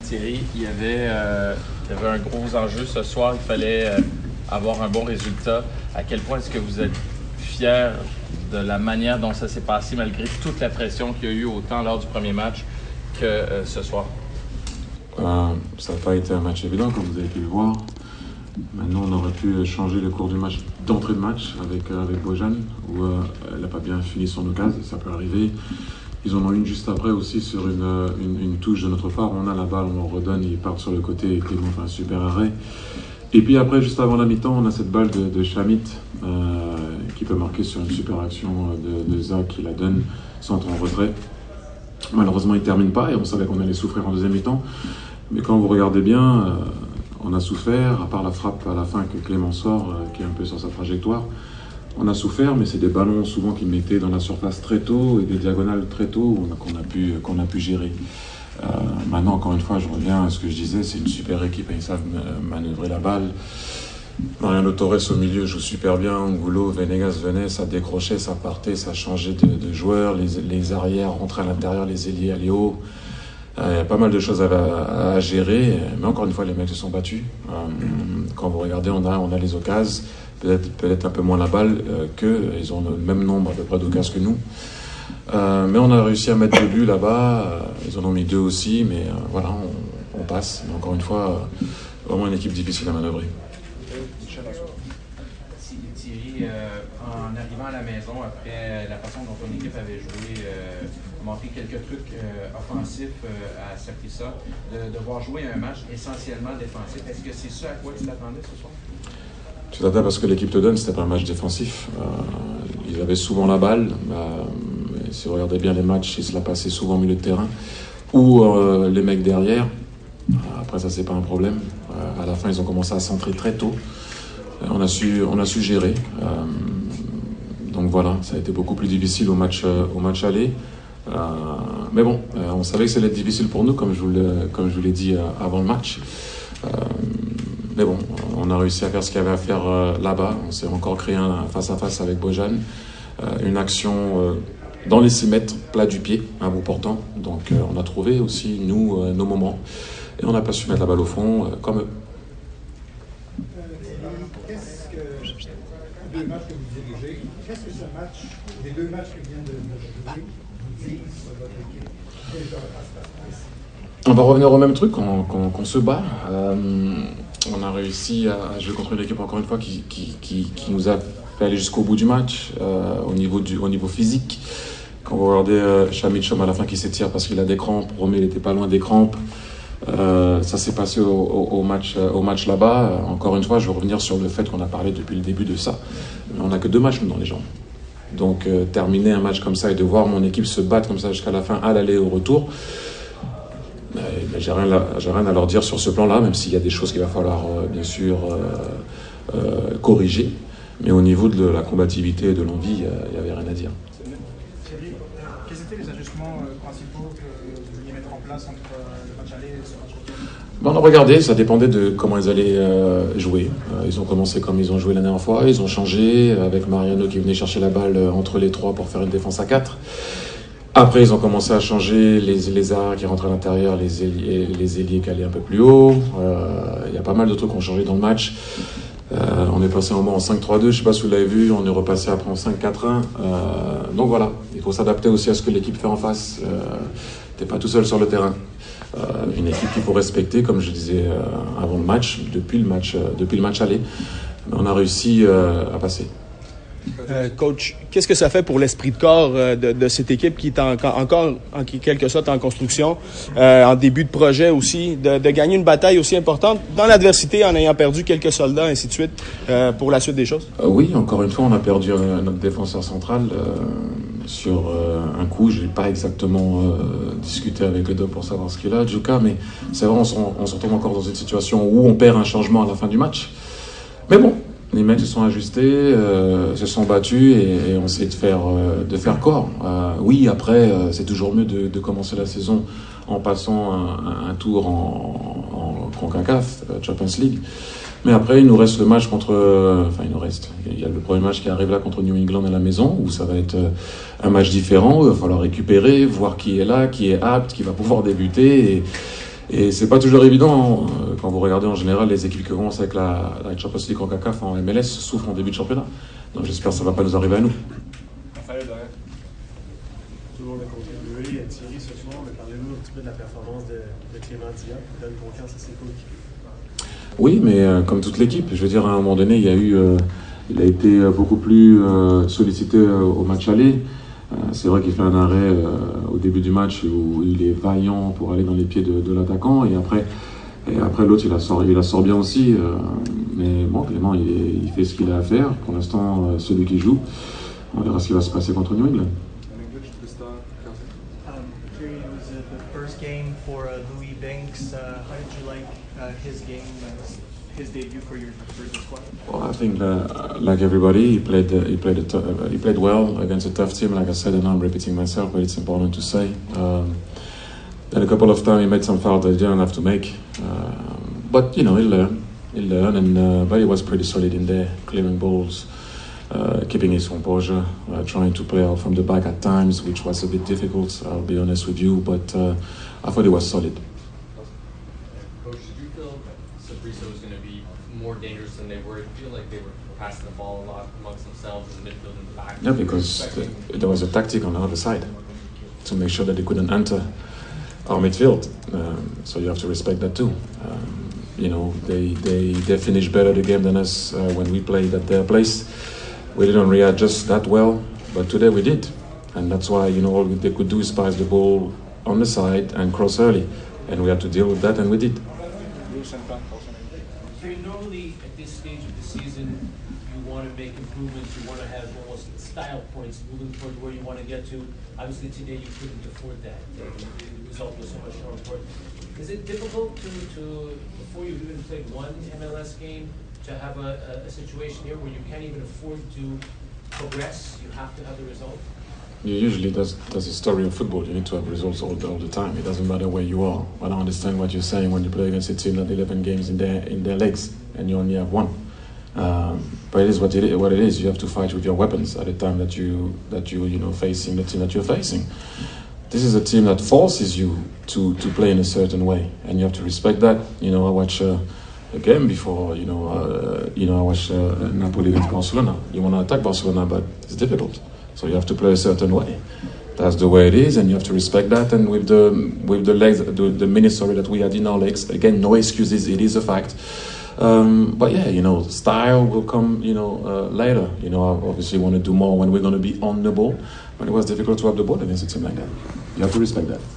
Thierry, il y avait un gros enjeu ce soir. Il fallait avoir un bon résultat. À quel point est-ce que vous êtes fier de la manière dont ça s'est passé malgré toute la pression qu'il y a eu autant lors du premier match que ce soir? Ça n'a pas été un match évident, comme vous avez pu le voir. Maintenant, on aurait pu changer le cours du match, d'entrée de match avec Bojan, où elle n'a pas bien fini son occasion, ça peut arriver. Ils en ont une juste après aussi sur une touche de notre part. On a la balle, on leur redonne, ils partent sur le côté et Clément fait un super arrêt. Et puis après, juste avant la mi-temps, on a cette balle de Shamit qui peut marquer sur une super action de Zach qui la donne, centre en retrait. Malheureusement, il ne termine pas et on savait qu'on allait souffrir en deuxième mi-temps. Mais quand vous regardez bien, on a souffert, à part la frappe à la fin que Clément sort, qui est un peu sur sa trajectoire. On a souffert, mais c'est des ballons souvent qu'ils mettaient dans la surface très tôt et des diagonales très tôt qu'on a pu gérer. Maintenant, encore une fois, je reviens à ce que je disais, c'est une super équipe et ils savent manœuvrer la balle. Mariano Torres au milieu joue super bien, Angulo, Venegas venait, ça décrochait, ça partait, ça changeait de joueurs, les arrières rentraient à l'intérieur, les ailiers allaient haut. Il y a pas mal de choses à gérer, mais encore une fois, les mecs se sont battus. Quand vous regardez, on a les occasions, peut-être un peu moins la balle qu'eux, ils ont le même nombre à peu près d'occasions que nous. Mais on a réussi à mettre 2 buts là-bas, ils en ont mis 2 aussi, mais voilà, on passe. Mais encore une fois, vraiment une équipe difficile à manœuvrer. Thierry, en arrivant à la maison, après la façon dont ton équipe avait joué, montré quelques trucs offensifs à Saprissa, de devoir jouer un match essentiellement défensif. Est-ce que c'est ça à quoi tu t'attendais ce soir? Tu t'attends parce que l'équipe te donne, c'était pas un match défensif. Ils avaient souvent la balle. Si vous regardez bien les matchs, ils se la passaient souvent au milieu de terrain. Ou les mecs derrière. Après ça, c'est pas un problème. À la fin, ils ont commencé à centrer très tôt. On a su gérer. Donc voilà, ça a été beaucoup plus difficile au match aller. Mais bon, on savait que ça allait être difficile pour nous, comme je vous l'ai dit avant le match. Mais bon, on a réussi à faire ce qu'il y avait à faire là-bas. On s'est encore créé un face-à-face avec Bojan. Une action dans les 6 mètres, plat du pied, un bout portant. Donc on a trouvé aussi, nous, nos moments. Et on n'a pas su mettre la balle au fond, comme eux. Les 2 matchs que vous dirigez, qu'est-ce que ce match, les 2 matchs que vient de jouer, vous disent sur votre équipe? On va revenir au même truc, qu'on se bat. On a réussi à jouer contre une équipe, encore une fois, qui nous a fait aller jusqu'au bout du match, au niveau physique. Quand vous regardez Shamit Chom à la fin qui s'étire parce qu'il a des crampes, Romé n'était pas loin des crampes. Ça s'est passé au match là-bas. Encore une fois, je veux revenir sur le fait qu'on a parlé depuis le début de ça. Mais on n'a que 2 matchs dans les jambes. Donc terminer un match comme ça et de voir mon équipe se battre comme ça jusqu'à la fin, à l'aller et au retour, j'ai rien à leur dire sur ce plan-là, même s'il y a des choses qu'il va falloir bien sûr corriger. Mais au niveau de la combativité et de l'envie, il n'y avait rien à dire. Thierry, quels étaient les ajustements principaux que vous vouliez mettre en place entre le match aller et ce match retour? On a regardé, ça dépendait de comment ils allaient jouer. Ils ont commencé comme ils ont joué la dernière fois, ils ont changé avec Mariano qui venait chercher la balle entre les 3 pour faire une défense à 4. Après, ils ont commencé à changer les arrières qui rentraient à l'intérieur, les ailiers qui allaient un peu plus haut. Il y a pas mal de trucs qui ont changé dans le match. On est passé un moment en 5-3-2, je ne sais pas si vous l'avez vu, on est repassé après en 5-4-1. Donc voilà, il faut s'adapter aussi à ce que l'équipe fait en face. Tu n'es pas tout seul sur le terrain. Une équipe qu'il faut respecter, comme je disais avant le match, depuis le match aller. On a réussi à passer. Coach, qu'est-ce que ça fait pour l'esprit de corps de cette équipe qui est encore en quelque sorte en construction, en début de projet aussi, de gagner une bataille aussi importante dans l'adversité en ayant perdu quelques soldats, ainsi de suite, pour la suite des choses? Oui, encore une fois, on a perdu notre défenseur central sur un coup. Je n'ai pas exactement discuté avec le doc pour savoir ce qu'il a, Djouka, mais c'est vrai, on se retrouve encore dans une situation où on perd un changement à la fin du match. Mais bon, les mecs se sont ajustés, se sont battus et ont essayé de faire corps. Oui, après, c'est toujours mieux de commencer la saison en passant un tour en CONCACAF, Champions League. Mais après, il nous reste le match il y a le premier match qui arrive là contre New England à la maison, où ça va être un match différent, où il va falloir récupérer, voir qui est là, qui est apte, qui va pouvoir débuter. Et c'est pas toujours évident quand vous regardez en général les équipes qui commencent avec la Champions League CONCACAF en MLS souffrent en début de championnat. Donc j'espère que ça va pas nous arriver à nous. Tout le monde a contribué. Thierry, ce soir, mais parlez-nous un petit peu de la performance de Clément Diop, qui donne confiance à ses coéquipiers. Oui, mais comme toute l'équipe, je veux dire, à un moment donné, il a été beaucoup plus sollicité au match aller. C'est vrai qu'il fait un arrêt au début du match où il est vaillant pour aller dans les pieds de l'attaquant et après l'autre il la sort bien aussi. Mais bon, Clément il fait ce qu'il a à faire. Pour l'instant, celui qui joue, on verra ce qui va se passer contre New England. It was the first game for Louis Banks. How did you like his game, his debut for the squad? Well, I think like everybody, he played well against a tough team. Like I said, and I'm repeating myself, but it's important to say. Then a couple of times he made some fouls that he didn't have to make, but you know he'll learn, and but he was pretty solid in there, clearing balls. Keeping his composure, trying to play out from the back at times, which was a bit difficult, I'll be honest with you, but I thought he was solid. Coach, did you feel Saprissa was going to be more dangerous than they were? Did you feel like they were passing the ball a lot amongst themselves in the midfield and the back? Yeah, because there was a tactic on the other side to make sure that they couldn't enter our midfield. So you have to respect that too. You know, they finished better the game than us when we played at their place. We didn't readjust that well, but today we did. And that's why, you know, all they could do is pass the ball on the side and cross early. And we had to deal with that, and we did. Normally, at this stage of the season, you want to make improvements, you want to have almost style points moving toward where you want to get to. Obviously, today you couldn't afford that. The result was so much more important. Is it difficult to before you've even played one MLS game, to have a situation here where you can't even afford to progress? You have to have the result? Usually that's the story of football. You need to have results all the time. It doesn't matter where you are. I don't understand what you're saying when you play against a team that 11 games in their legs and you only have one. But it is what it is. You have to fight with your weapons at the time that you know facing the team that you're facing. This is a team that forces you to play in a certain way, and you have to respect that. You know, I watch a game before. I watch Napoli against Barcelona. You want to attack Barcelona, but it's difficult. So you have to play a certain way. That's the way it is, and you have to respect that. And with the legs, the minutes that we had in our legs, again, no excuses. It is a fact. But yeah, you know, style will come, later. You know, I obviously want to do more when we're going to be on the ball. But it was difficult to have the ball against a team like that. You have to respect that.